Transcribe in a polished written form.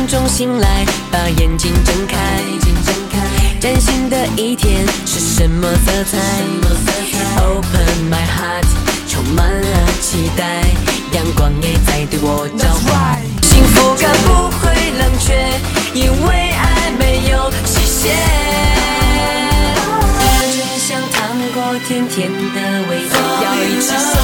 中醒来，把眼睛睁开，崭新的一天是什么色彩 ？Open my heart， 充满了期待，阳光也在对我召唤。幸福感不会冷却，因为爱没有期限。就像糖果甜甜的味道，要一直。